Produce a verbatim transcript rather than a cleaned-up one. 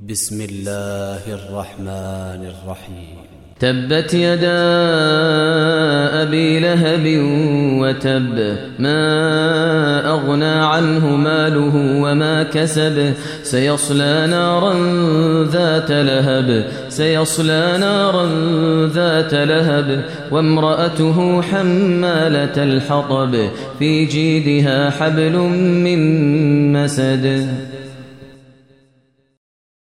بسم الله الرحمن الرحيم. تبت يدا أبي لهب وتب، ما أغنى عنه ماله وما كسب، سيصلى نارا ذات لهب سيصلى نارا ذات لهب وامرأته حمالة الحطب، في جيدها حبل من مسد.